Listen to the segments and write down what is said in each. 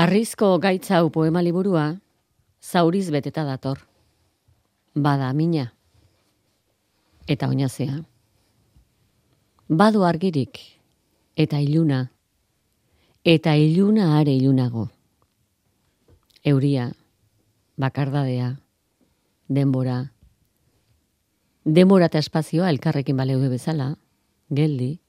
Arrizko gaitz hau poema liburua zauriz beteta dator. Bada mina eta oinazea. Badu argirik eta iluna are ilunago. Euria, bakardadea, denbora eta espazioa elkarrekin baleude bezala, geldi,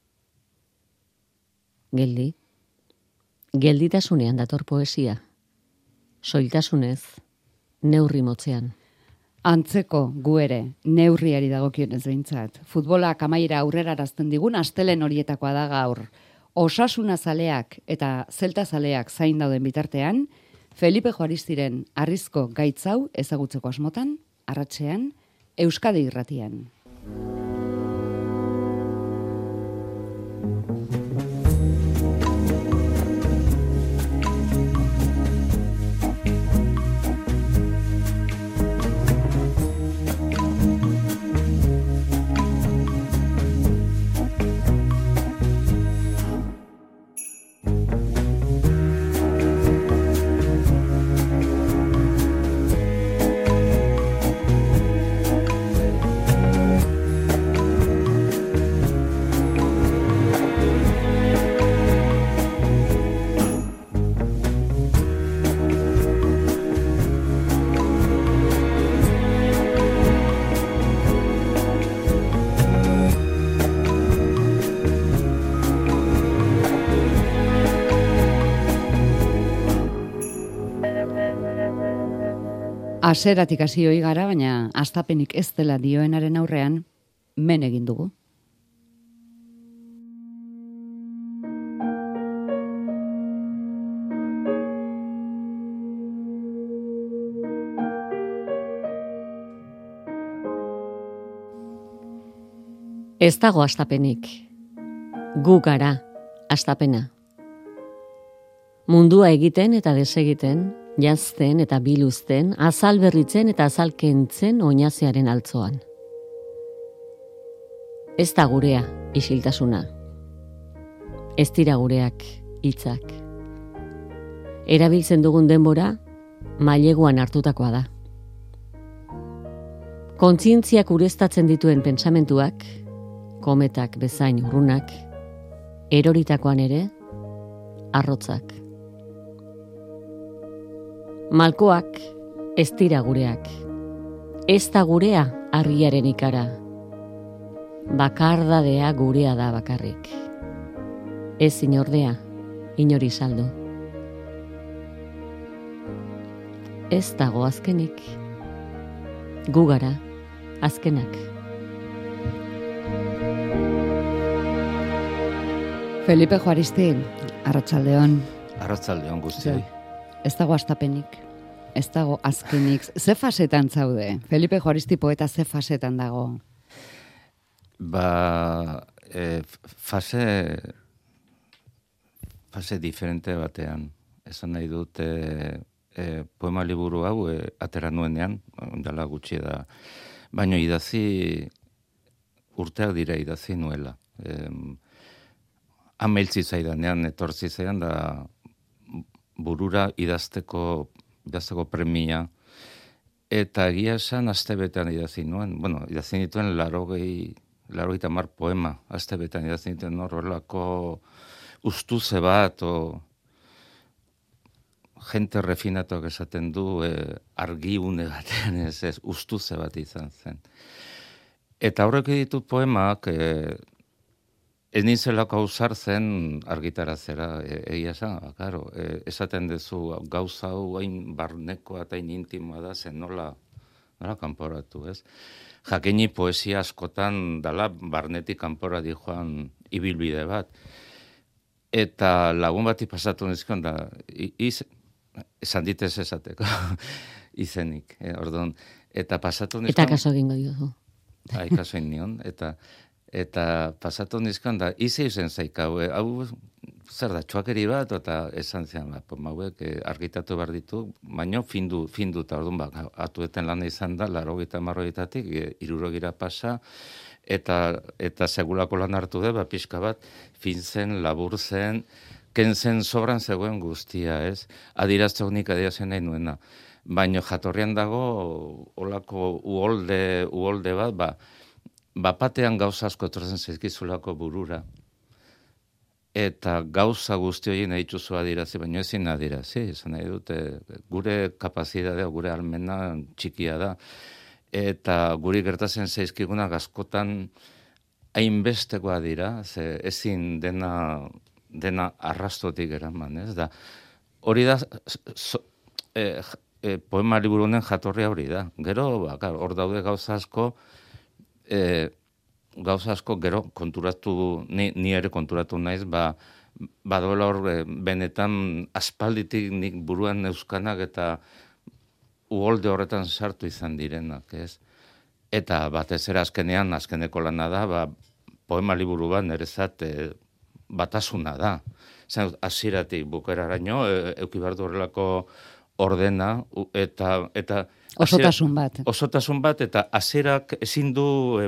gelditasunean dator poesia, soiltasunez, neurri motzean. Antzeko gu ere, neurriari dagokionez behintzat. Futbolak amaiera aurrera arazten digun astelen horietakoa da gaur. Osasuna zaleak eta zelta zaleak zain dauden bitartean, Felipe Juaristiren Arrizko gaitz hau ezagutzeko asmotan, arratsean, Euskadi Irratian. Haseratik hasi ohi gara, baina hastapenik ez dela dioenaren aurrean, men egin dugu. Ez dago hastapenik. Gu gara hastapena. Mundua egiten eta desegiten, jazten eta biluzten, azal berritzen eta azal kentzen oinazearen altzoan. Ez da gurea isiltasuna. Ez dira gureak hitzak. Erabiltzen dugun denbora maileguan hartutakoa da. Kontzientziak ureztatzen dituen pentsamentuak, kometak bezain urrunak, eroritakoan ere, arrotzak. Malkoak ez dira gureak. Ez da gurea harriaren ikara. Bakardadea gurea da bakarrik. Ez inordea, inori saldu. Ez dago azkenik. Gu gara, azkenak. Felipe Juaristi, arratsaldeon. Arratsaldeon guztioi. Ez dago hastapenik, ez dago azkenik. Ze fasetan zaude? Felipe Juaristi poeta ze fasetan dago? Fase diferente batean. Esan nahi dut poema liburu hau atera nuenean, dela gutxi da. Baina urteak dira idazi nuela. Ameltzi zaidanean, etortzi zaidan da burura idazteko premia, eta egia esan astebetean idazi nuen. Bueno, idazi nituen 80 poema, astebetean idazi nituen horrelako ustuze bat, jente refinatuak esaten du, argiune batean ez, ustuze bat izan zen. Eta horrek ditut poemak, ez nintzelako ausartzen argitarazera, egia esan, claro, esaten duzu gauza hau hain barnekoa eta hain intimoa da, zen nola kanporatu, ez? Jakini poesia askotan dala barnetik kanpora dijoan ibilbide bat. Eta lagun bati pasatu nizkion da, esan ditez esateko, izenik, orduan. Eta pasatu nizkion... Eta kaso egingo dugu. Kaso egin nion, eta pasatu nizkan da, izen zaikau, hau zer da, txuakeri bat, eta esan zian, hauek argitatu behar ditu, baina findu eta orduan, atueten lan izan da, 80-tatik, 60 pasa, eta segulako lan hartu da, pixka bat, fin zen, labur zen, kentzen sobran zegoen guztia, ez? Adirazteok nik adierazen nahi nuena. Baina jatorrian dago olako uholde bat, bapatean gauza asko etortzen zaizkizulako burura. Eta gauza guzti horien nahi dituzu adirazi, baina ezin adirazi. Esan nahi dute, gure kapazitatea, gure almena txikia da. Eta guri gertatzen zaizkigunak askotan hainbestekoa dira, ze ezin dena arrastotik eraman, ez da. Hori da, poema liburu honen jatorria hori da. Gero, hor daude gauza asko gero konturatu, ni ere konturatu naiz, badoela hor benetan aspalditik nik buruan euskanak eta uholde horretan sartu izan direnak, ez? Eta batez ere azkeneko lana da, poema liburu bat nerezat batasuna da. Zan, hasieratik bukaeraraino, eduki behar du horrelako ordena, eta osotasun bat. Osotasun bat, eta hasierak ezin du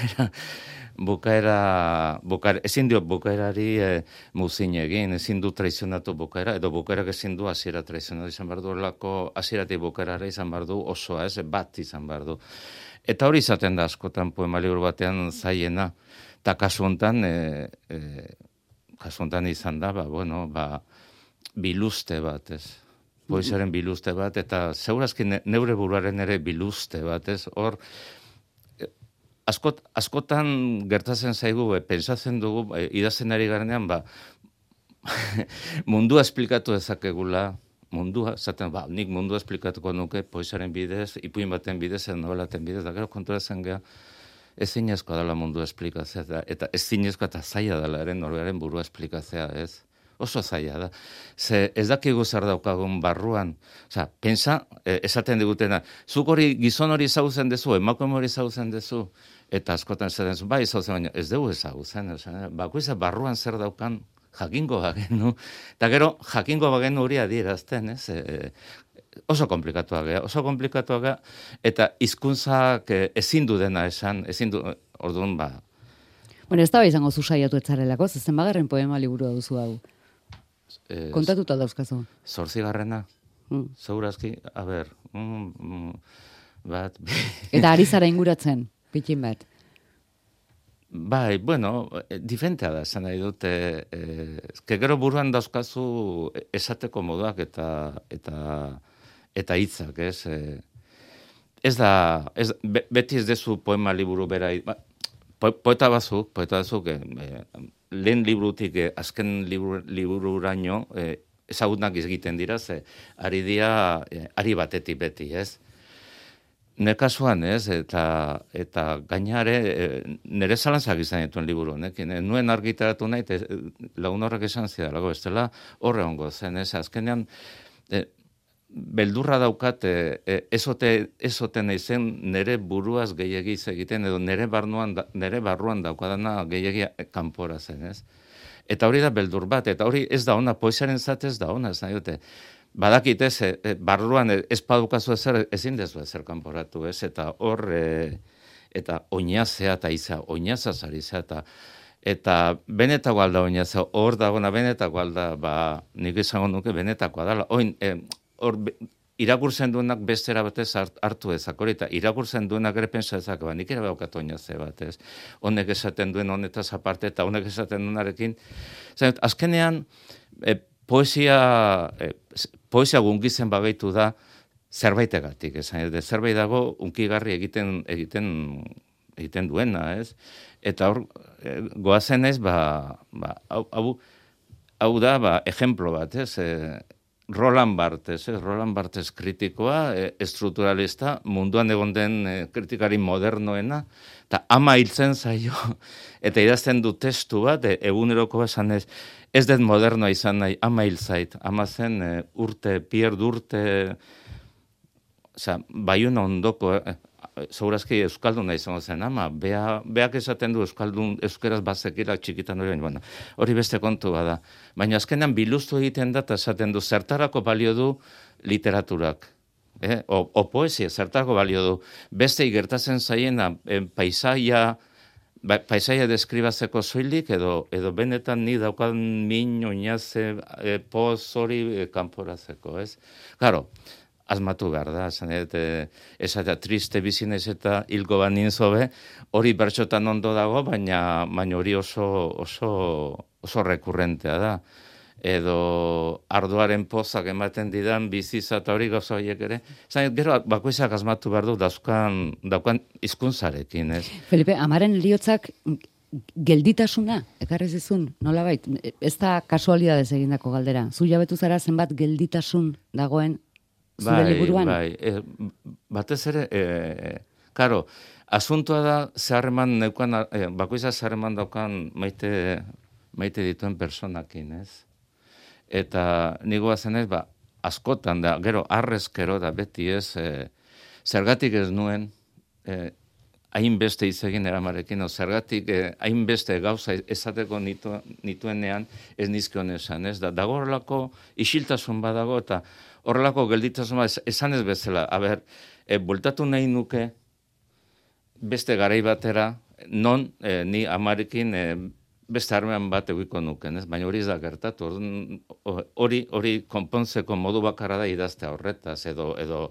ezin dio bukaerari muzin egin, ezin du traizionatu bukaera, edo bukaerak ezin du hasiera traizionatu izan behar du, horrelako hasieratik bukaerara izan behar du, osoa, ez, bat izan behar du. Eta hori izaten da askotan poema liburu batean zaiena, eta kasu honetan izan da, biluste bat, ez. Poesiaren biluste bat, eta segurazki neure buruaren ere biluste bat, ez. Hor, askotan gertatzen zaigu, pentsatzen dugu, idazten ari garenean, mundua esplikatu dezakegula, nik mundua esplikatuko nuke poesiaren bidez, ipuin baten bidez, nobelaten bidez, da gero konturatzen geha, ezinezkoa dela mundua esplikatzea, eta ezinezkoa eta zaila dela ere norberaren burua esplikatzea, ez? Oso zaila da. Ze ez dakigu zer daukagun barruan. Osa, pensa, esaten digutena, zuk hori gizon hori ezagutzen dezu, emakume hori ezagutzen dezu, eta askotan esaten zu, bai ezagutzen, baina ez dugu ezagutzen. Bakoitza barruan zer daukan jakingo bagenu, eta gero jakingo bagenu hori adierazten, ez? Oso komplikatua gea, eta hizkuntzak ezin du dena esan, orduan Bueno, ez da izango zu saiatu etzarelako, zezen bagarren poema liburua duzu hau. Kontatuta dauzkazu. 8. Segurazki, a ber, bat... Eta ari zara inguratzen, pikin bat. Bai, bueno, diferentea da, esan nahi dute, gero buruan dauzkazu esateko moduak eta hitzak, ez? Beti ez dezu poema liburu bera, poeta bazuk, lehen liburutik azken libururaino ezagunak egiten dira, ari batetik beti, ez? Nire kasuan, ez? Eta gainare, nire zalantzak izan dituen liburu honekin. Nuen argitaratu nahi, lagun horrek esan zidalago, ez dela horre hongo zen, ez? Azkenean, beldurra daukat, ezoten eizen nire buruaz gehiagiz egiten, edo nire barruan daukadana gehiagia kanpora zen, ez? Eta hori da beldur bat, eta hori ez da ona, poesiaren zatez da ona, ez nahi dute. Badakit ez, barruan ez padukazu ezer, ezin dezu ezer kanporatu, ez? Eta hor, eta oinazea eta iza, oinazaz ari zea, eta benetako alda oinazea, hor dagona benetako alda, nik izango nuke benetakoa dela. Hor, irakurtzen duenak bestera batez hartu ezak, hori, eta irakurtzen duenak ere pensa ezak, nik ere baukat oinaze batez. Honek esaten duen honetaz aparte, eta honek esaten duenarekin. Azkenean, poesia gungitzen bagaitu da zerbaitegatik, zerbait dago unkigarri egiten duena, ez? Eta hor, goazen ez, hau da, ejemplo bat, ez? Roland Barthes kritikoa, estrukturalista, munduan egon den kritikari modernoena, eta ama hiltzen zaio, eta idazten du testu bat, eguneroko esan ez dut modernoa izan nahi, ama hiltzait, ama zen Pierre urte, Baiuna ondoko, segurazki euskalduna izango zen, ama, beak esaten du euskeraz bazekira txikitan hori beste kontua da. Baina azkenan biluztu egiten da, eta esaten du, zertarako balio du literaturak. O poesia, zertarako balio du. Beste gertatzen zaiena, paisaia paisaia deskribatzeko soilik, edo benetan ni daukan min, oinaze, poz hori kanporatzeko, ez? Claro, asmatu behar da, esatea triste bizinez eta hilko banin zobe, hori bertxotan ondo dago, baina hori oso rekurrentea da. Edo ardoaren pozak ematen didan biziza eta hori gauza horiek ere. Gero bakoitzak asmatu behar du daukan hizkuntzarekin, ez? Felipe, amaren heriotzak gelditasuna, ekarrez izun, nolabait, ez da kasualidadez egindako galdera. Zu jabetu zara zenbat gelditasun dagoen zure liburuan? Bai, batez ere, karo, asuntoa da zeharreman neukan, bakoitzak zeharreman daukan maite dituen personakin, ez? Eta nigoa zenez, askotan da, gero arrezkero da beti ez, zergatik ez nuen, hainbeste hitz egin eramarekin, zergatik hainbeste gauza esateko nituenean ez nizkion esan, ez? Dago horrelako isiltasun badago, eta horrelako gelditasun bat esan ez bezala, bueltatu nahi nuke beste garai batera, non ni amarekin beste harreman bat egiko nuken, ez? Baina hori ez da gertatu. Hori konpontzeko modu bakarra da idaztea horretaz, edo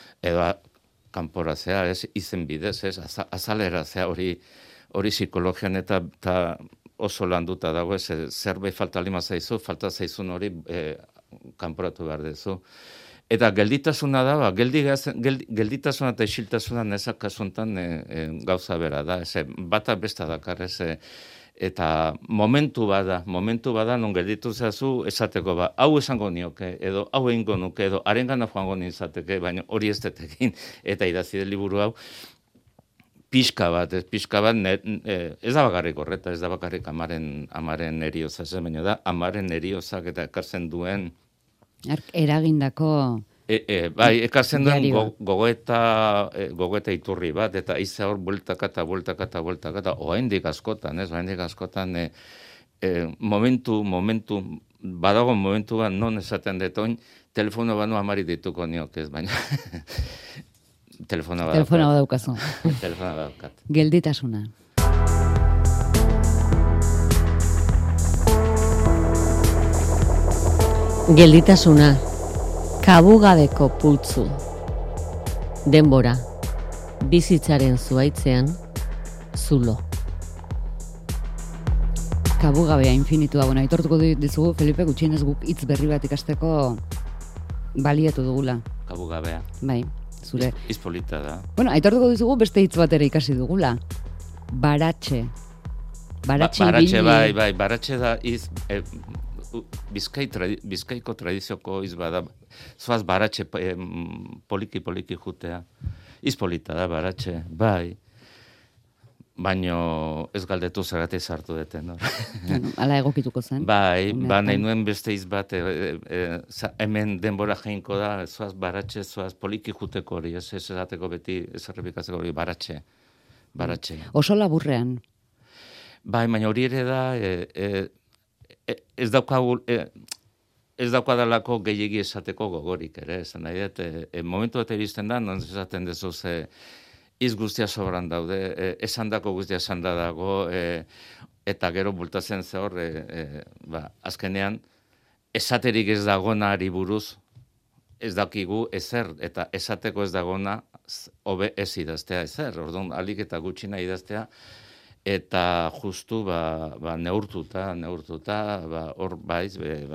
kanporatzea, ez? Izen bidez, ez? Azaleratzea hori psikologian eta oso landuta dago, ez? Zerbait falta lima zaizu, falta zaizun hori kanporatu behar dezu. Eta gelditasuna da, gelditasuna eta isiltasuna nezak kasuntan gauza bera da, ez? Bata besta dakar, ez? Eta momentu bada non gelditu zazu esateko hau esango nioke, edo hau egingo nuke, edo harengana joango nintzateke, baina hori ez detekin, eta idazi den liburu hau, pixka bat, ez da bakarrik horreta, ez da bakarrik amaren erioza, baina da amaren eriozak eta ekartzen duen eragindako bai, ekartzen duen gogoeta iturri bat, eta iza hor bueltakata, oaindik askotan, ez? Oaindik askotan badago momentu bat non esaten detoin, telefono banu amari dituko niok, ez? Baina telefona badaukazu. Telefona badaukat. Gelditasuna. Gelditasuna. Kabugabeko pultzu. Denbora. Bizitzaren zuaitzean, zulo. Kabugabea infinitua. Bueno, aitortuko dizugu, Felipe, gutxienez guk hitz berri bat ikasteko baliatu dugula. Kabugabea. Bai, zure. Izpolita da. Bueno, aitortuko dizugu beste hitz bat ere ikasi dugula. Baratxe. Baratxe, bai, baratxe da Bizkaiko tradizioko izbada, zoaz baratxe poliki jutea. Izpolita da baratxe, bai. Baino ez galdetu zergatik sartu deten. Hala egokituko zen. Bai, nahi nuen beste izbat, hemen denbora jainko da, zoaz baratxe, zoaz poliki juteko hori, ez esateko beti, ez errepikatzeko hori, baratxe. Oso laburrean. Bai, baina hori ere da, ez daukadalako gehiegi esateko gogorik ere, esan nahi dut, momentu bat iristen da, non esaten dezu iz guztia sobran daude, esandako guztia esanda dago, eta gero bultatzen ze hor, azkenean, esaterik ez dagonari buruz, ez dakigu ezer, eta esateko ez dagona, hobe ez idaztea ezer, orduan, alik eta gutxina idaztea, eta justu neurtuta, hor baiz,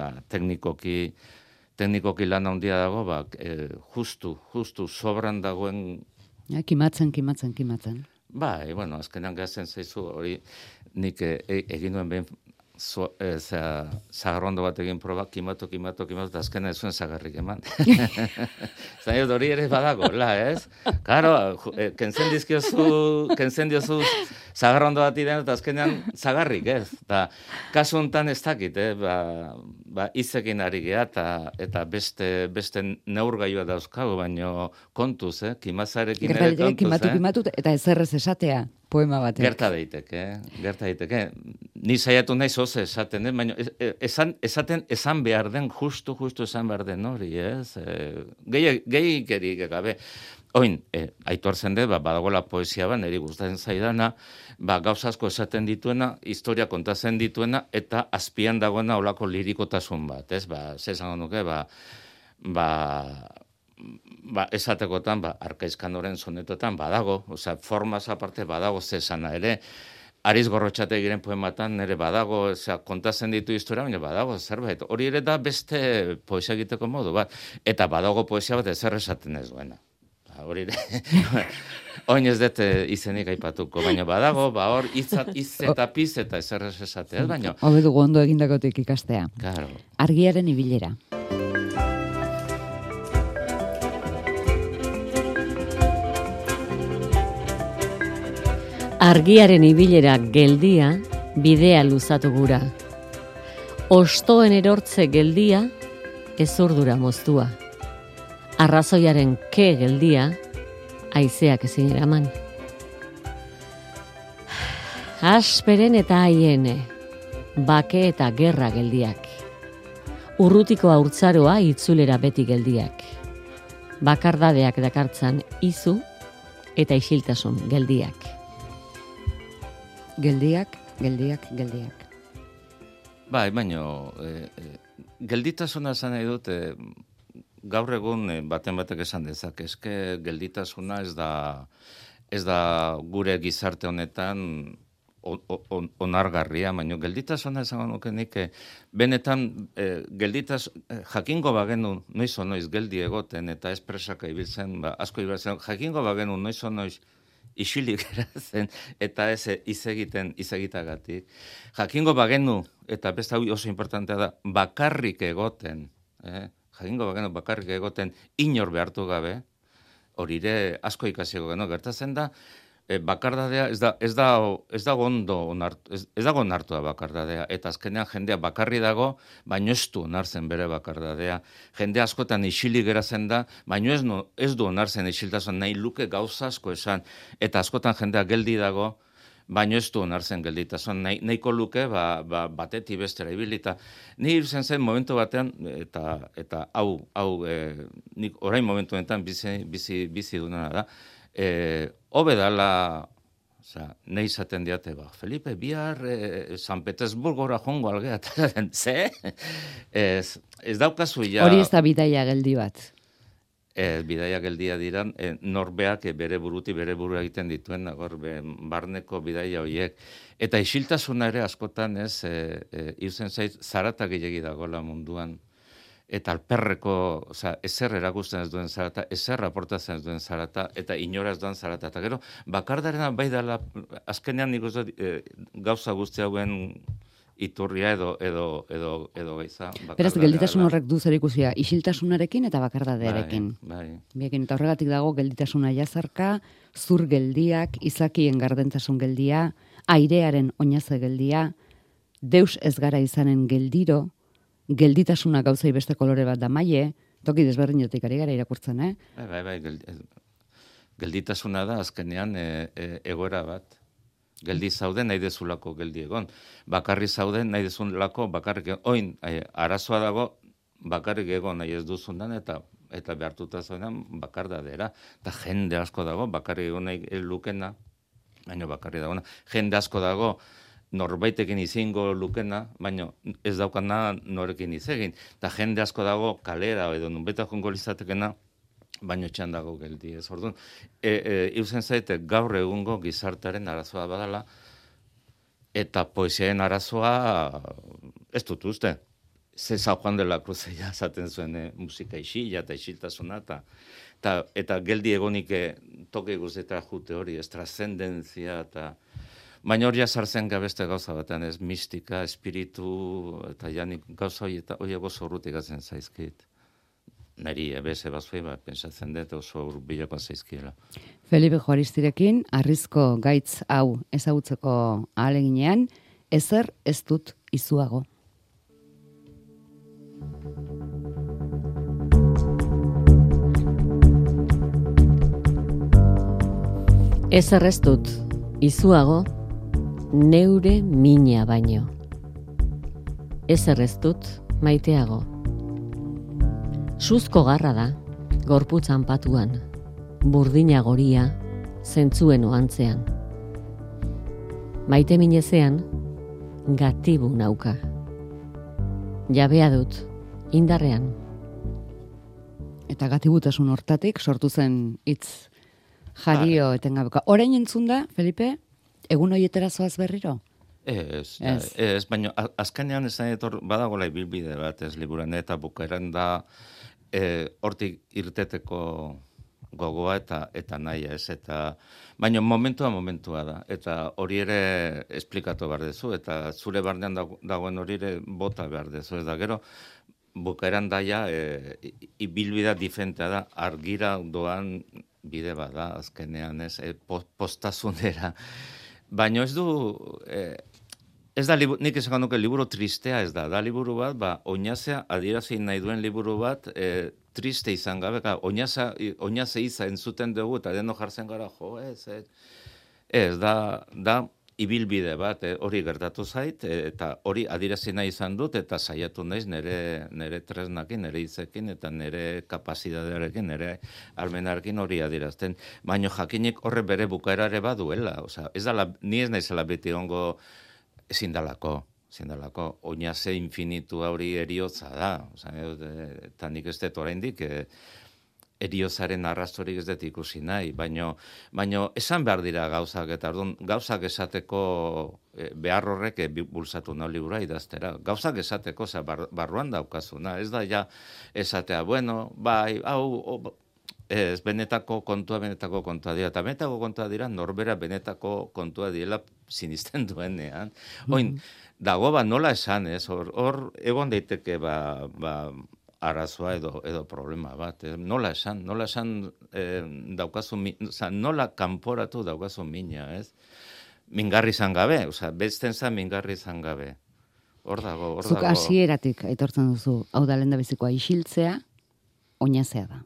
teknikoki lan handia dago, justu sobran dagoen. Kimatzen. Bai, bueno, azkenean gazen zaizu, hori nik egin duen behin zagarrondo bat egin proba, kimatu, eta azkenean ez zuen zagarrik eman. Zain hori ere badago, ez? Karo, kentzen diozu zagarrondo bat idean, eta azkenean zagarrik, ez? Eta kasu honetan ez dakit, izekin ari geha, eta beste neurgailua dauzkagu, baino kontuz, kimazarekin ere kontuz. Kimatu, eta ezerrez esatea. Poema batek. Gerta daiteke. Ni saiatu nahi zoze esaten, baina esan behar den, justu esan behar den hori, ez? Gehiikerik gabe. Oin, Aitor Zende, badagoela poesia niri gustatzen zaidana, gauza asko esaten dituena, historia kontatzen dituena, eta azpian dagoena olako lirikotasun bat, ez? Ze esango nuke, esatekotan, Arkaizkanoren sonetotan badago, osea, formaz aparte badago zesana ere, Ariz Gorrotxategiren poematan nire badago, kontatzen ditu historia, baina badago zerbait. Hori ere da beste poesia egiteko modu bat. Eta badago poesia bat ezer esaten ez duena. Hori ere, oin ez dut izenik aipatuko, baina badago, hor hitz eta piz eta ezer esatea, baina... Hobe dugu ondo egindakotik ikastea. Claro. Argiaren ibilera. Argiaren ibilera geldia, bidea luzatu gura. Ostoen erortze geldia, ezurdura moztua. Arrazoiaren ke geldia, haizeak ezin eraman. Asperen eta haiene, bake eta gerra geldiak. Urrutiko haurtzaroa itzulera beti geldiak. Bakardadeak dakartzan izu eta isiltasun geldiak. Geldiak. Bai, baina gelditasuna esan nahi dut, gaur egun batek esan dezak, eske gelditasuna ez da gure gizarte honetan onargarria, baina gelditasuna esango nuke nik, benetan jakingo bagenu noiz geldi egoten, eta espresaka ibiltzen, asko ibiltzen, jakingo bagenu noiz isilik erazen, eta ez izegitagatik. Jakingo bagenu, eta beste hau oso importantea da, bakarrik egoten, jakingo bagenu bakarrik egoten, inor behartu gabe, hori ere asko ikasiko geno, gertatzen da, bakardadea ez dago ondo onartua bakardadea, eta azkenean jendea bakarri dago, baino ez du onartzen bere bakardadea. Jende askotan isilik geratzen da, baino ez du onartzen isiltasun, nahi luke gauza asko esan, eta askotan jendea geldi dago, baino ez du onartzen gelditasun, nahiko luke batetik bestera ibilita. Ni irzen zen momentu batean, eta hau nik orain momentu honetan bizi duna da, hobe dala, nahi izaten diate, Felipe, bihar San Petersburgora jongo algea, ze? Ez daukazu ja... Hori ez da bidaia geldi bat. Bidaia geldia diran, norbeak bere buru egiten dituen, barneko bidaia horiek. Eta isiltasuna ere askotan ez, iruzen zait, zarata gehiagi dagoela munduan. Eta alperreko, ezer erakusten ez duen zarata, ezer aportatzen ez duen zarata, eta inoraz duen zarata. Eta gero, bakardarena bai dela, azkenean nik uste gauza guzti hauen iturria edo gaiza. Beraz, gelditasun horrek du zer ikusia, isiltasunarekin eta bakardadearekin. Bai. Biekin, eta horregatik dago gelditasuna jazarka, zur geldiak, izakien gardentasun geldia, airearen oinaze geldia, deus ez gara izanen geldiro, gelditasuna gauzai beste kolore bat da maie, toki desberdinotik ari gara irakurtzen, Bai, gelditasuna da azkenean egoera bat. Geldi zauden nahi dezulako geldi egon. Bakarri zauden nahi dezulako bakarrik egon. Oin, arazoa dago bakarrik egon nahi ez duzundan eta behartuta zaudenan bakardadera. Eta jende asko dago bakarrik egon nahi lukena, baina bakarri dagoena. Jende asko dago norbaitekin izingo lukena, baina ez daukana norekin izegin. Eta jende asko dago kalera edo nunbeta jongo lizatekena, baino txan dago geldi ez. Orduan, iuzen zaite gaur egungo gizartaren arazoa badala, eta poesiaren arazoa ez dut uste. Ze San Juan de la Cruz esaten zuen musika isila eta isiltasuna, eta geldi egonik toke guztietara jute hori, ez trascendentzia, baina hori sartzen gabeste gauza batean, ez mistika, espiritu, eta janik gauza hori oso urrutik atzen zaizkit. Neri ebeze bazue, pentsatzen dut oso urbilako zaizkiela. Felipe Juaristirekin, arrizko gaitz hau ezagutzeko ahaleginean, ezer ez dut izuago. Ezer ez dut izuago, neure mina baino. Ezer ez dut maiteago. Suzko garra da, gorputzan patuan. burdina goria, zentzuen oantzean. Maite minezean, gatibu nauka. Jabea dut, indarrean. Eta gatibutasun hortatik sortu zen hitz jario etengabeko. Orain entzun da, Felipe, egun horietara zoaz berriro? Ez, baina azkenean ez badagoela ibilbide bat ez liburan, eta bukaeran da hortik irteteko gogoa eta nahia ez, eta baina momentua da, eta hori ere esplikatu behar dezu, eta zure barnean dagoen hori ere bota behar dezu, ez da gero, bukaeran daia ibilbidea diferentea da, argira doan bide bada azkenean ez, postasunera. Baina ez du, ez da, nik esan nuke liburu tristea ez da liburu bat, oinazea adierazi nahi duen liburu bat, triste izan gabe, oinaze iza entzuten dugu, eta deno jartzen gara, ez da ibilbide bat, hori gertatu zait, eta hori adierazi nahi izan dut, eta saiatu naiz nire tresnakin, nire hitzekin, eta nire kapazitatearekin, nire almenarekin hori adierazten. Baina jakinik horre bere bukaerare baduela, ez dala, ni ez naizela beti ongo ezin dalako, oinaze infinitu hori eriotza da, eta nik ez dut oraindik, eriozaren arrastorik ez dut ikusi nahi, baino esan behar dira gauzak, eta gauzak esateko behar horrek bultzatu nau libura idaztera. Gauzak esateko, barruan daukazuna, ez da ja esatea, bueno, bai, ez, benetako kontua dira, eta benetako kontua dira norbera benetako kontua direla sinisten duenean. Oin, dago nola esan, ez, hor egon daiteke arazoa edo problema bat. Nola esan daukazu, nola kanporatu daukazu mina, ez? Mingarri izan gabe, besten zan mingarri izan gabe. Hor dago. Zuk hasieratik aitortzen duzu, hau da lehendabizikoa isiltzea, oinazea da.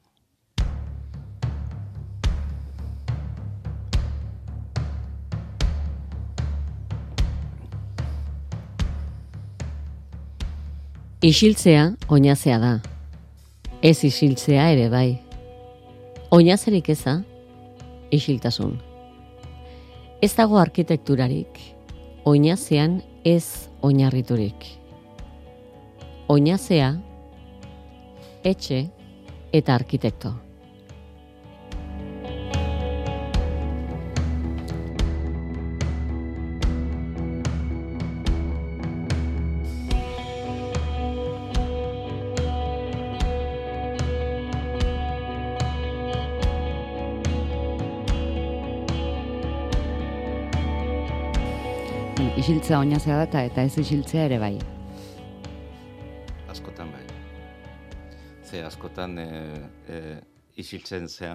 Isiltzea, oinazea da. Ez isiltzea ere bai. Oinazerik eza, isiltasun. Ez dago arkitekturarik, oinazean ez oinarriturik. Oinazea, etxe eta arkitekto. Isiltzea oinazea da eta ez isiltzea ere bai. Askotan bai. Askotan isiltzen zea.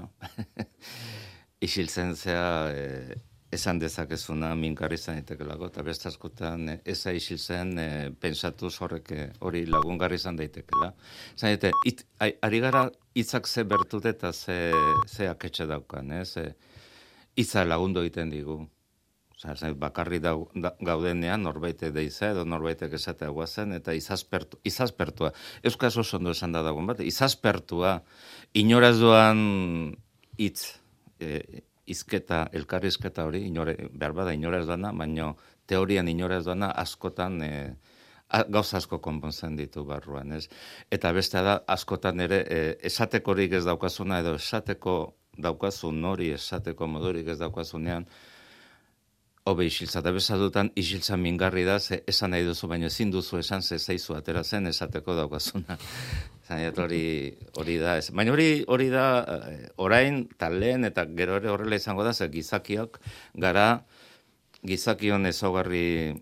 Isiltzen zea esan dezakezuna mingarri izan daitekelako, eta beste askotan eza isiltzen pentsatu hori lagungarri izan daitekela. Zan daite, ari gara hitzak ze bertute eta ze aketxe daukan, hitza lagundu egiten digu. Bakarri gaudenean norbaite deiza edo norbaitek esatea guazen, eta izazpertua. Euskaz oso ondo esan da dagoen bat, izazpertua, inoraz doan hitz, izketa, elkarrizketa hori, behar bada inoraz doana, baina teorian inoraz doana askotan gauza asko konpontzen ditu barruan, ez? Eta beste da, askotan ere, esatekorik ez daukazuna, edo esateko daukazun hori, esateko modurik ez daukazunean, hobe isiltza, eta bezadutan isiltza mingarri da, esan nahi duzu, baina ezin duzu esan zaizu atera zen esateko daukazuna. Zainet hori da, ez. Baina hori da, orain, talen, eta gero ere horrela izango da, ze gizakiok gara, gizakion ezaugarri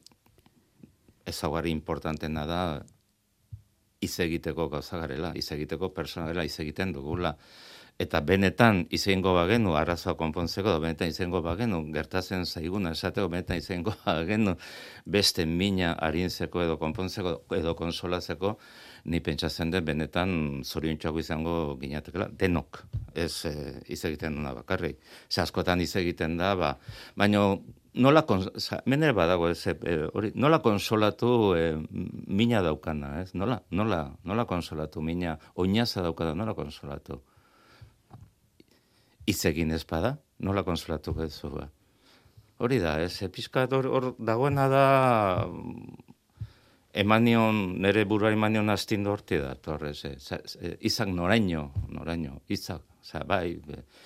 importantena da, hitz egiteko gauza garela, hitz egiteko persona garela, hitz egiten dugula. Eta benetan izango bagenu, arazoa konpontzeko, benetan izango bagenu, gertatzen zaiguna esateko, benetan izango bagenu, beste mina arintzeko edo konpontzeko edo konsolatzeko, ni pentsatzen den benetan zoriontxoago izango ginatekela, denok, ez hitz egiten duna bakarrik. Askotan hitz egiten da, baina nola konsolatu mina daukana, ez? Nola konsolatu mina, oinaza daukada, nola konsolatu? hitz egin ez bada, nola konsolatuko duzu ba. Hori da, pixkat hor dagoena da, nire burua emanion astindu horti da, torrez, izak noraino, izak, bai,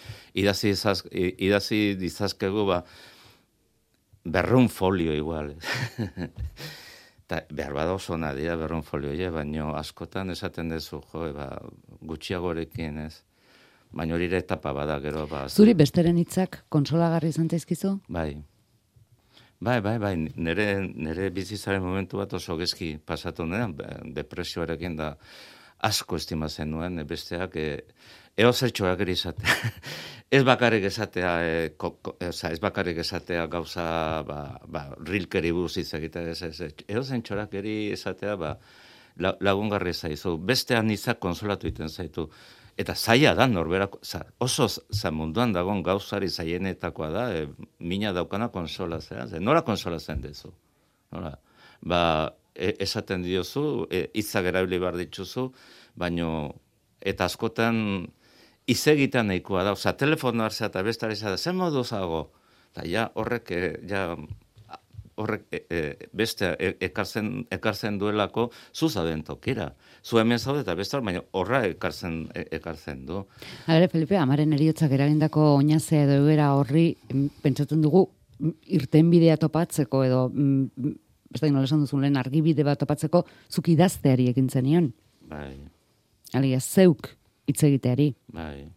idazi dizazkegu, ba, 200 folio igual. Ta, behar bada oso nadia 200 folio, baina askotan esaten dezu, gutxiagorekin, ez? Baina hori ere etapa bada, gero, ba... Zuri besteren hitzak konsolagarri izan zaizkizu? Bai, nire bizitzaren momentu bat oso gezki pasatu nuen, depresioarekin da asko estimatzen nuen, besteak, eozertxoak ere izatea. Ez bakarrik esatea gauza, rilkeri buruz hitz egitea, eozentxorak ere izatea, lagungarri zaizu. Bestean izak konsolatu iten zaitu. Eta zaila da, norberako, oso munduan dagoen gauzari zaienetakoa da, mina daukana konsolatzea. Nora konsolatzen dezu? Esaten diozu, hitzak erabili behar dituzu, baino, eta askotan hitz egitean nahikoa da. Telefono hartzea eta bestari zara, zen modu zago? Eta horrek beste ekartzen duelako zuzaden tokira. Zu hemen zaude eta beste baina horra ekartzen du. Hala, Felipe, amaren heriotzak eragindako oinazea edo egoera horri pentsatzen dugu irtenbidea topatzeko edo ez da nola esan duzun lehen argibide bat topatzeko zuk idazteari ekin zenion. Bai. Alia, zeuk hitz egiteari. Bai.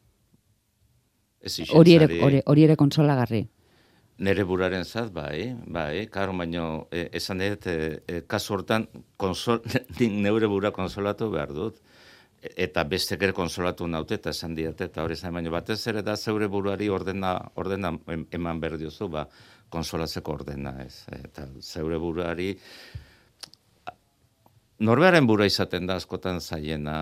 Hori ere konsolagarri. Nere buraren zat, bai, karo, baino, esan dut, kasu hortan, neure bura konsolatu behar dut, eta bestek ere konsolatu naute, eta esan diate, eta hori zain, baino, batez ere da zeure buruari ordena eman behar diozu, konsolatzeko ordena, ez, eta zeure buruari, norbearen bura izaten da askotan zaiena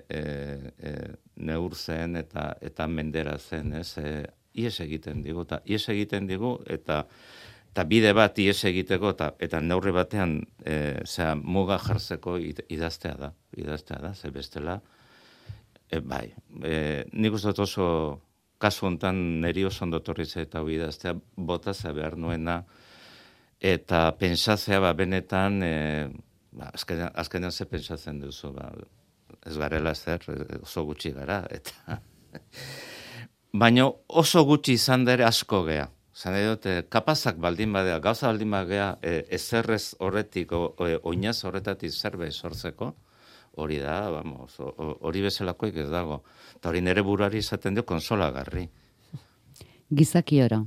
neurtzen eta menderatzen, ez, ies egiten digu, eta bide bat ies egiteko, eta neurri batean muga jartzeko idaztea da, ze bestela, bai, nik uste dut oso, kasu honetan neri oso ondotorritze eta idaztea, botatzea behar nuena, eta pentsatzea, benetan, azkenean ze pentsatzen duzu, ez garela zer, oso gutxi gara, eta... Baina oso gutxi izan da ere asko gea. Zan edot, kapazak baldin badea, gauza baldin badea, ezerrez horretik, oinaz horretatik zerbait sortzeko, hori da, hori bezalakoik ez dago. Eta hori nire buruari izaten dio konsolagarri. Gizaki oro.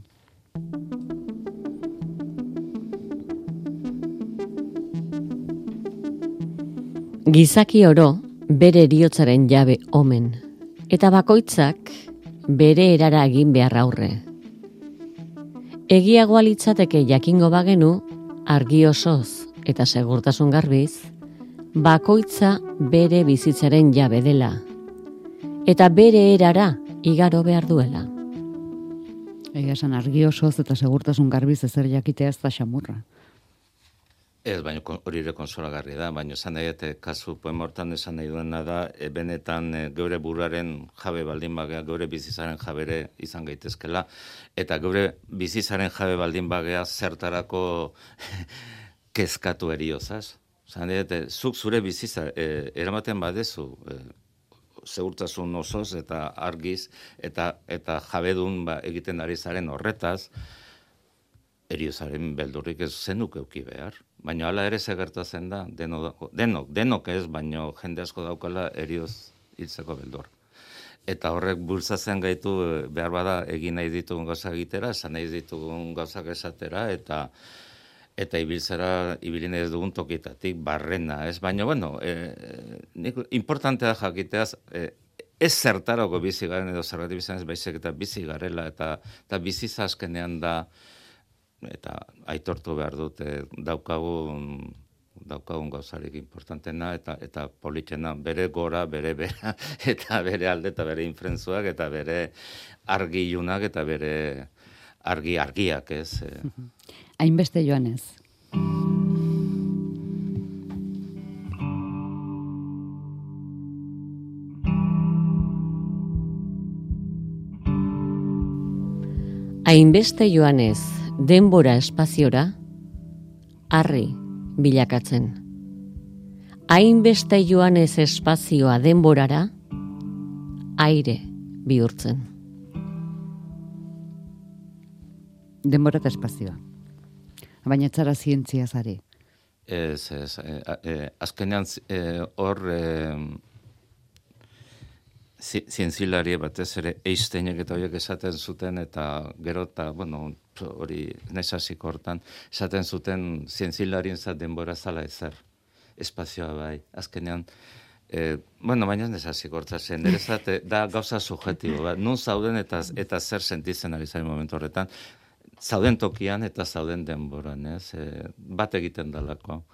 Gizaki oro bere eriotzaren jabe omen, eta bakoitzak bere erara egin behar aurre. Egiagoa litzateke jakingo bagenu, argi osoz eta segurtasun garbiz, bakoitza bere bizitzaren jabe dela, eta bere erara igaro behar duela. Egia esan, argi osoz eta segurtasun garbiz ezer jakitea ez da xamurra. Ez, baina hori ere konsolagarri da, baina esan nahi, kasu poema hortan esan nahi duena da, benetan geure buruaren jabe baldin bagea, geure bizitzaren jabere izan gaitezkela, eta geure bizitzaren jabe baldin bagea zertarako kezkatu eriozaz. Esan nahi, zuk zure bizitza eramaten badezu, segurtasun osoz eta argiz, eta jabedun egiten ari zaren horretaz, eriozaren beldurrik ez zenuk euki behar. Baina hala ere gertatzen da, denok ez, baina jende asko daukala erioz hiltzeko beldur. Eta horrek bultzatzen gaitu behar bada egin nahi ditugun gauza egitera, esan nahi ditugun gauzak esatera, eta ibili nahi dugun tokitatik barrena, ez? Baina, bueno, importantea jakiteaz, ez zertarako bizi garen edo zergatik bizan ez baizik eta bizi garela, eta bizitza azkenean da, eta aitortu behar dute daukagun gauzarik importantena eta politena bere gora, bere bera, eta bere alde eta bere infrentzuak, eta bere argi ilunak, eta bere argiak, ez. Hainbeste joanez. Hainbeste joanez denbora espaziora, harri bilakatzen. Hainbeste joanez espazioa denborara, aire bihurtzen. Denbora eta espazioa. Baina etzara zientzia zari. Ez. Azkenean hor zientzilari batez ere Einsteinek eta horiek esaten zuten, eta gero eta, hori naizasiko hortan, esaten zuten zientzilarien denbora zala ezer, espazioa bai. Azkenean, baina naizasiko hortan zen, da gauza subjetibo, nun zauden eta zer sentitzen ari zaren momentu horretan, zauden tokian eta zauden denboran, ez? Bat egiten dalako.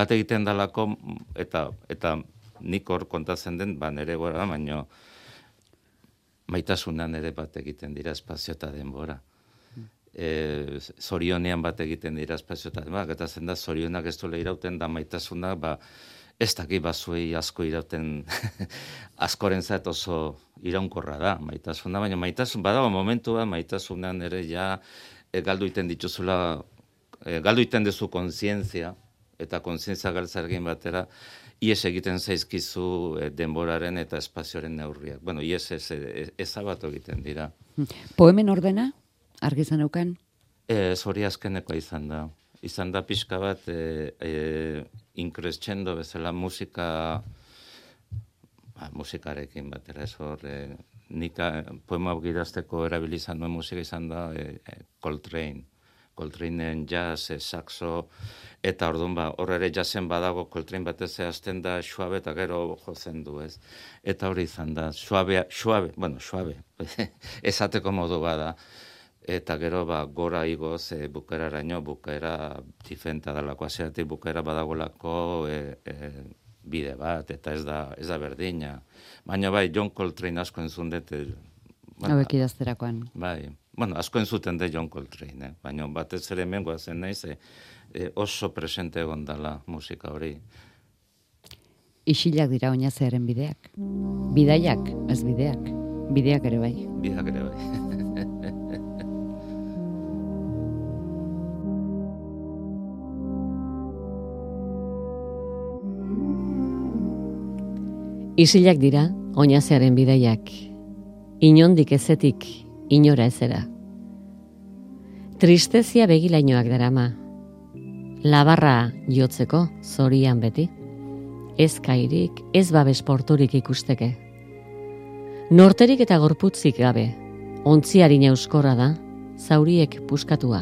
Eta nik hor kontatzen den, nire gora, baina maitasunan ere bat egiten dira espazio eta denbora. Zorionean bat egiten dira espazio eta denbora, eta zen da, zorionak ez duela irauten, da maitasuna, ez daki bazuei asko irauten, askorentzat oso iraunkorra da, maitasuna, baina maitasun, badago momentua, maitasunan ere ja, galdu iten dituzula, galdu iten dezu kontzientzia, eta kontzientzia galtzargin batera, ies egiten zaizkizu denboraren eta espazioaren neurriak. Ies ezabatu egiten dira. Poemen ordena, argi zaneukan? Hori azkenekoa izan da. Izan da pixka bat increscendo bezala musikarekin batera. Ez hor, nik poema idazteko erabilizan duen musika izan da Coltraneen jazz, saxo, eta orduan hor ere jazzen badago Coltrane batez hasten da suabe eta gero jotzen du, ez? Eta hori izan da, suabe, esateko modu bada. Eta gero gora igoz bukaeraraino, bukaera diferenta dalako, aziatik bukaera badagolako bide bat, eta ez da berdina. Baina John Coltrane asko entzun dut. Hauek idazterakoan. Bai, asko entzuten de John Coltrane, baina batez ere hemen goazen naiz, oso presente egon dala musika hori. Isilak dira oinazearen bideak. Bidaiak, ez bideak. Bideak ere bai. Bideak ere bai. Isilak dira oinazearen bidaiak. Inondik ezetik, inora ezera. Tristezia begilainoak darama. Labarra jotzeko, zorian beti. Ez kairik, ez babes porturik ikusteke. Norterik eta gorputzik gabe, ontziarina euskorra da, zauriek puskatua.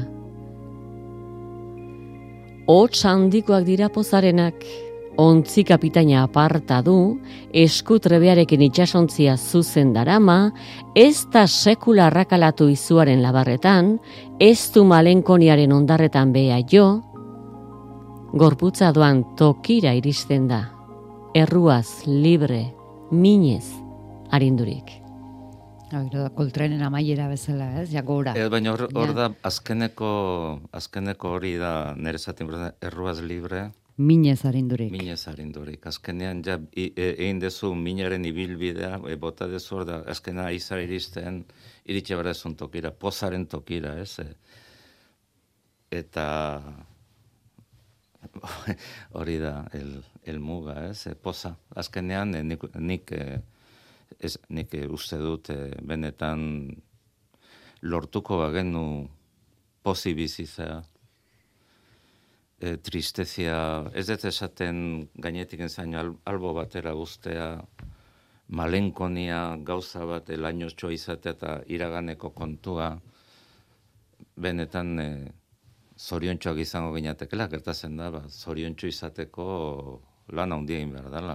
Hots handikoak dira pozarenak, ontzi kapitaina aparta du, eskutrebearekin itxasontzia zuzen darama, ez da sekula arrakalatu izuaren labarretan, ez du malenkoniaren ondarretan beha jo, gorputza doan tokira iristen da, erruaz, libre, minez, arindurik. Coltraneen amaiera bezala, ez? Jagora. Baina hor da, azkeneko hori da, nire zaten, erruaz libre, minez arindurik. Minez arindurik. Azkenean, egin dezu minaren ibilbidea, bota dezu hor da, azkena izar iristen, iritxe berezun tokira, pozaren tokira, ez? Eta hori da, el muga, ez? Poza. Azkenean, nik uste dut, benetan lortuko bagenu pozi bizizea, tristezia, ez dut esaten gainetik enzaino albo batera guztea, malenkonia gauza bat elainotxo izatea eta iraganeko kontua, benetan zoriontxoak izango ginatekela, gertatzen da, zoriontxo izateko lan handia egin behar dela.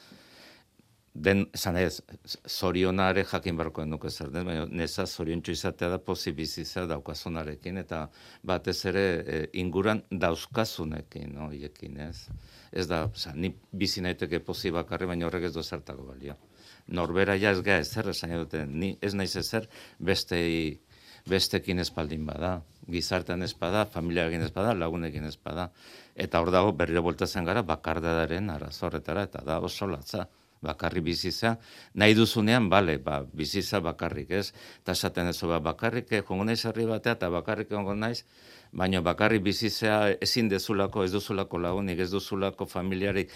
Esan ez, zorionare jakin barko nuke zer den, baina neza zoriontxo izatea da pozibizizea daukazunarekin, eta batez ere inguran dauzkazunekin, hiekin, ez? Ez da, ni bizi naiteke pozi bakarri, baina horrek ez du zertako balio. Norbera ja ez ga ezer, esan dute, ni ez naiz ezer bestekin espaldin bada, gizartean espada, familiarekin espada, lagunekin espada. Eta hor dago berriro bueltatzen gara bakardadaren arazorretara, eta da oso latza. bakarrik bizitza, nahi duzunean, bale, bizitza bakarrik, ez? Eta esaten ez, bakarrik jongo naiz herri batea, eta bakarrik jongo naiz, baina bakarrik bizitza ezin dezulako, ez duzulako lagunik, ez duzulako familiarik,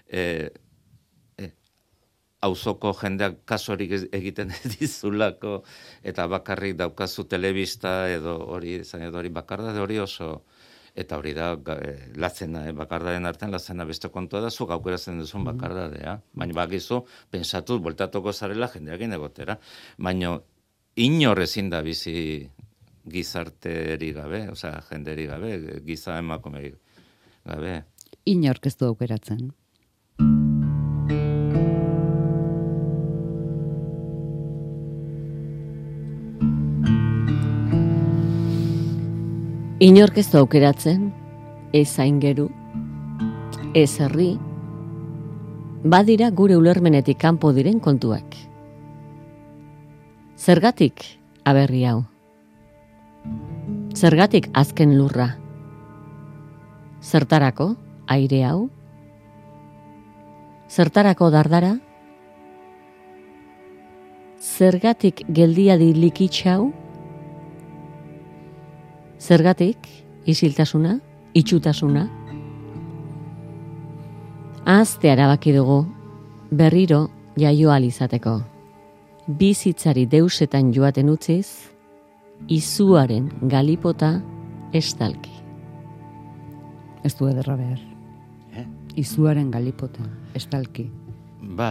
auzoko jendeak kasorik egiten dizulako, eta bakarrik daukazu telebista, edo hori bakarda, hori oso... Eta hori da, latzena, bakardaren artean latzena beste kontua da, zuk aukeratzen duzun bakardadea. Baina bakizu, pensatuz, voltatuko zarela jendeakin egotera. Baina inor ezin da bizi gizarteri gabe, osea, jenderi gabe, giza emakume gabe. Inork ez du aukeratzen. Inork ez du aukeratzen, ez aingeru, ez herri, badira gure ulermenetik kanpo diren kontuak. Zergatik aberri hau? Zergatik azken lurra? Zertarako aire hau? Zertarako dardara? Zergatik geldiadi likitxau? Zergatik, isiltasuna, itxutasuna. Ahazte erabaki dugu, berriro jaio ahal izateko. Bizitzari deusetan joaten utziz, izuaren galipota estalki. Ez du ederra behar. Izuaren galipota estalki. Ba,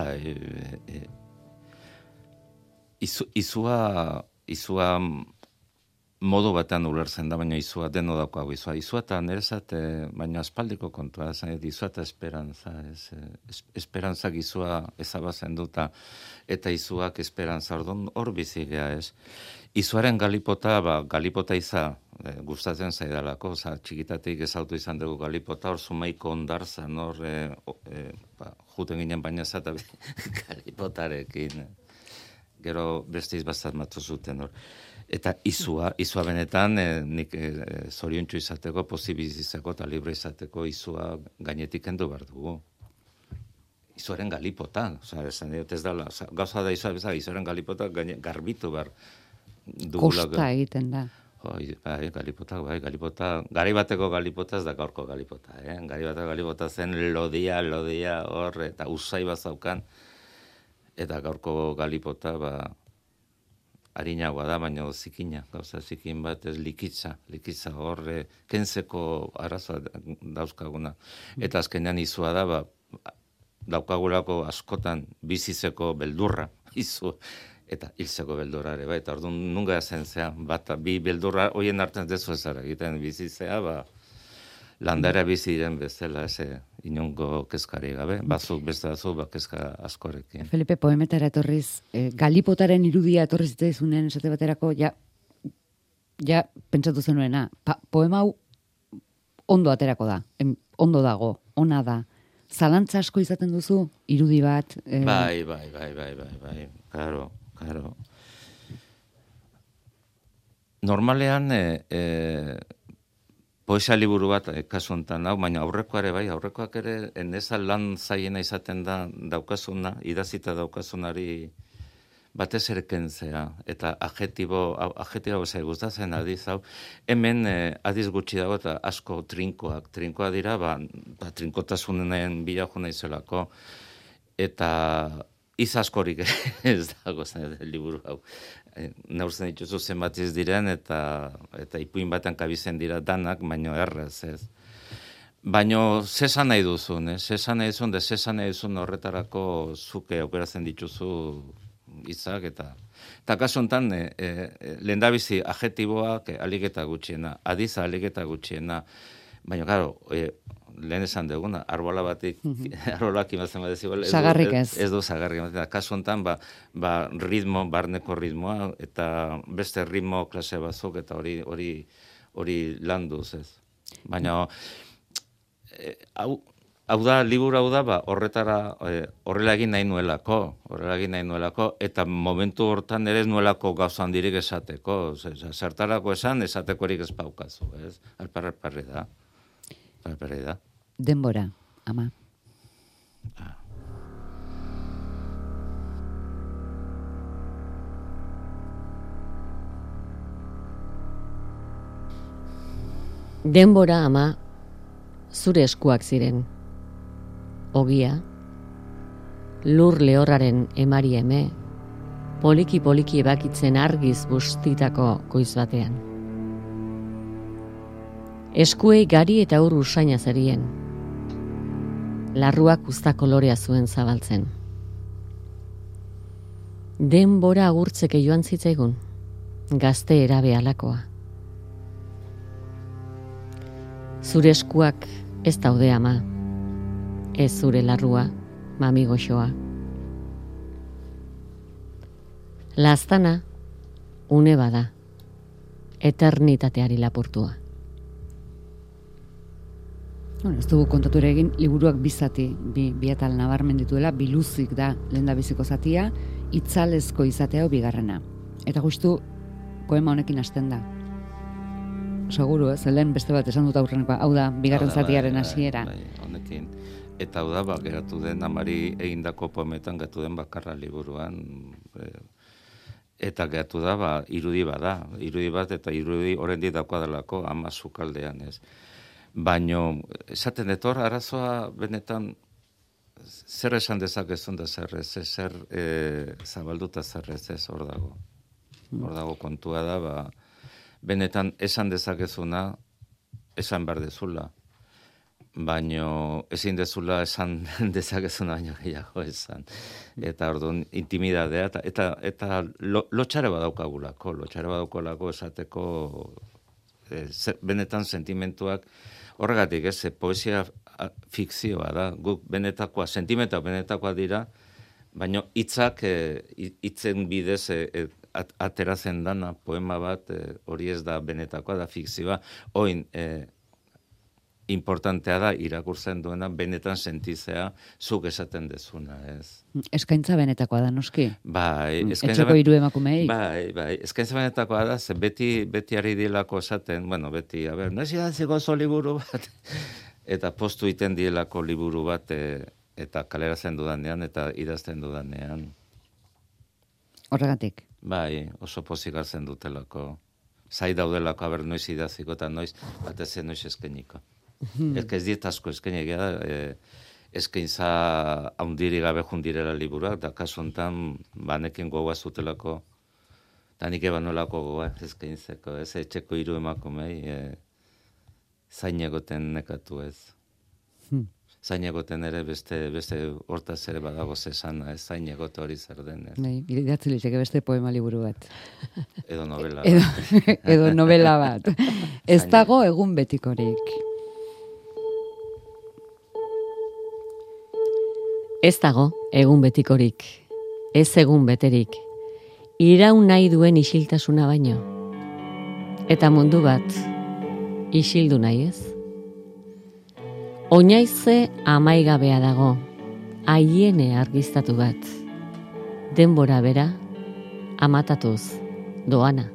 izua modu batean ulertzen da, baina izua deno daukagu izua. Izua eta nerezat, baina aspaldiko kontua, izua eta esperantza. Esperantzak izua ezabazen duta, eta izuak esperantza hor bizigea, ez. Izuaren galipota, galipota iza, gustatzen zaidalako, txikitatik ezautu izan dugu galipota, hor Zumaiko ondarzan, hor, juten ginen baina zata galipotarekin. Gero beste izbazat matu zuten hor. Eta izua benetan, nik zoriontsu izateko, posibilizateko eta libre izateko izua gainetik kendu behar dugu. Izuaren galipota, esan dut ez dala, gauza da izuaren galipota garbitu behar dugula. Kosta egiten da. Galipota, gari bateko galipota ez da gaurko galipota, Gari bateko galipota zen lodia hor, eta usai bazaukan, eta gaurko galipota, harinagoa da, baina zikina, gauza zikin bat, ez likitza hor, kentzeko arazoa dauzkaguna. Eta azkenean izua da, daukagulako askotan bizizeko beldurra, izu, eta hilzeko beldurra ere, eta orduan nunga zen zean, bi beldurra, hoien artean dezu ezara egiten bizizea, landara biziren bezala, inongo kezkari gabe, beste batzuk, kezka askorekin. Felipe, poemetara etorriz, galipotaren irudia etorriz zitaizunen esate baterako, ja pentsatu zenuena, poema hau ondo aterako da, ondo dago, ona da. Zalantza asko izaten duzu, irudi bat? Bai, claro. Normalean, poesia liburu bat kasu honetan hau, baina aurrekoak ere eneza lan zaiena izaten da daukazuna, idazita daukazunari batez ere kentzea, eta adjetibo gustatzen adiz hau, hemen adiz gutxi dago eta asko trinkoa dira, trinkotasunen bila jo naizelako, eta iz askorik ez dago liburu hau. Neurtzen dituzu zenbat ez diren, eta ipuin batean kabizen dira danak, baino errez, ez. Baino, zesan nahi duzun, zesan nahi duzun horretarako zuke aukeratzen dituzu hitzak, eta kasu honetan, lehendabizi adjetiboak aliketa gutxiena, adiza aliketa gutxiena, baina, claro, lehen esan duguna, arbolak imazen bat ez. Zagarrik ez. Ez du zagarrik ez. Kasu honetan, ritmo, barneko ritmoa, eta beste ritmo klase batzuk, eta hori landuz ez. Baina, hau da, liburu hau da, horrela egin nahi nuelako, eta momentu hortan ere ez nuelako gauzan dirik esateko, zertarako esatekorik ez paukazu, ez? Alparri da. Denbora, ama. Denbora ama zure eskuak ziren. Ogia, lur lehorraren emari eme, poliki-poliki ebakitzen argiz bustitako goiz batean. Eskuei gari eta ur usaina zerien. Larruak uzta kolorea zuen zabaltzen. Denbora agurtzeke joan zitzaigun, gazte erabe alakoa. Zure eskuak ez daude ama, ez zure larrua, mami goxoa. Laztana, une bada, eternitateari lapurtua. Bueno, ez dugu kontatu ere egin, liburuak bizati, bi atal nabarmen dituela, biluzik da lehendabiziko zatia, itzalezko izatea bigarrena. Eta justu poema honekin hasten da. Seguru, lehen beste bat esan dut aurrenekoa, hau da, bigarren zatiaren hasiera. Honekin. Eta hau da, geratu den, amari egindako poemetan geratu den bakarra liburuan, eta geratu da, irudi bat, eta irudi horrendi dakoa delako ama sukaldean, ez. Baino, esaten etor, arazoa benetan, zer esan dezakezun da zer ez, zer zabalduta zer ez, hor dago. Hor dago kontua da, benetan esan dezakezuna, esan behar dezula. Baino, ezin dezula esan dezakezuna baino gehiago esan. Eta orduan, intimidadea, eta lotxare badaukagulako esateko, benetan sentimentuak, horregatik, poesia fikzioa da, guk sentimentuak benetakoa dira, baina hitzen bidez ateratzen dana poema bat, hori ez da benetakoa, da fikzioa, oin importantea da irakurtzen duena benetan sentizea zuk esaten dezuna, ez. Eskaintza benetakoa da, noski? Bai, etxeko hiru emakumei. Bai, eskaintza benetakoa da, ze beti ari dielako esaten, beti, noiz idatziko oso liburu bat, eta postu iten dielako liburu bat, eta kaleratzen dudanean, eta idazten dudanean. Horregatik? Bai, oso pozik hartzen dutelako. Zai daudelako, noiz idaziko, eta noiz noiz eskeniko. Ez diet asko eskenegia da, eskaintza haundiri gabe jundirela liburuak, da kasu honetan, banekin gogoa zutelako, eta nik ebanolako gogoa eskaintzeko, ez etxeko hiru emakumei, zain egoten nekatu ez. Zain egoten ere beste hortaz ere badago zesana, ez zain egote hori zer den. Idatzi litzeke beste poema liburu bat. Edo novela bat. Edo novela bat. Ez dago egun betikorik. Ez dago egun betikorik, ez egun beterik, iraun nahi duen isiltasuna baino. Eta mundu bat, isildu nahi ez? Oinaize amaigabea dago, aiene argiztatu bat. Denbora bera, amatatuz, doana.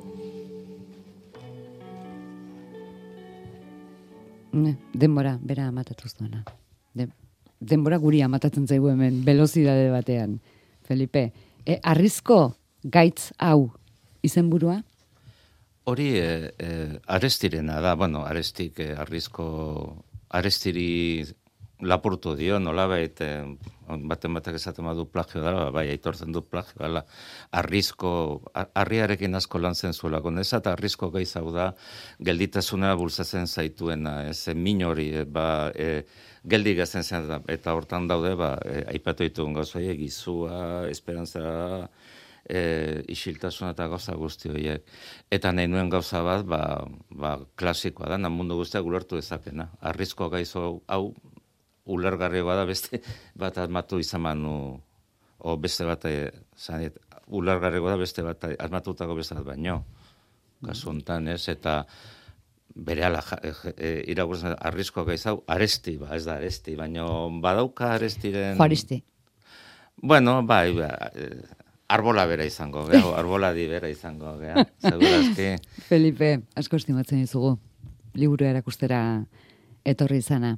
Denbora bera amatatuz doana. Denbora guri amatatzen zaigu hemen, velozidade batean. Felipe, arrizko gaitz hau izenburua? Hori arestirena da, arestik arestiri lapurtu dio, nolabait, batek esaten badu plagio dara, bai, aitortzen du plagio dela, harriarekin asko lan zen zuelako, nezat arrizko gaitz hau da, gelditasuna bultzatzen zaituena, min hori, geldi gazen zen, eta hortan daude, aipatu ditugun gauza horiek, gizua, esperantza, isiltasuna eta gauza guzti horiek. Eta nahi nuen gauza bat, klasikoa da, mundu guztiak ulertu dezakena. Arrizko gaizo hau ulergarriagoa da, beste bat asmatu izan manu, o beste bat, ulergarriagoa da, beste bat asmatutako beste bat baino. Kasu honetan, ez, eta berehala irakurtzen arrizko gaizau, aresti, ez da aresti, baina badauka arestiren... Juaristi. Bueno, bai, arbola bera izango, arboladi bera izango, segurazki. Felipe, asko estimatzen dizugu, liburu erakustera etorri izana.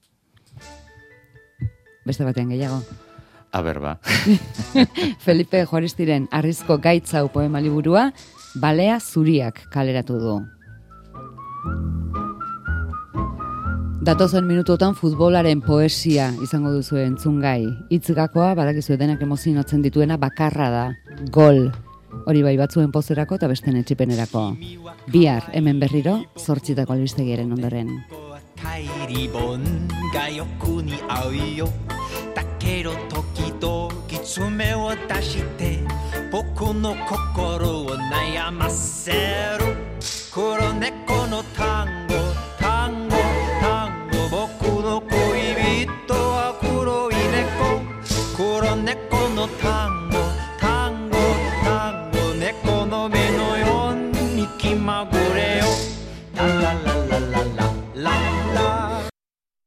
Beste batean gehiago. Aber, ba. Felipe Juaristiren arrizko gaitzau poema liburua, Balea zuriak kaleratu du. Datozen minututan futbolaren poesia izango duzu entzungai. Hitzgakoa badakizu denak emozionatzen dituena bakarra da. Gol. Hori bai batzuen pozerako eta besten etxipenerako. Bihar hemen berriro 8:00 albistegiaren ondoren. 帰り本が欲に合うよだけど時々爪を出して僕の心を悩ませる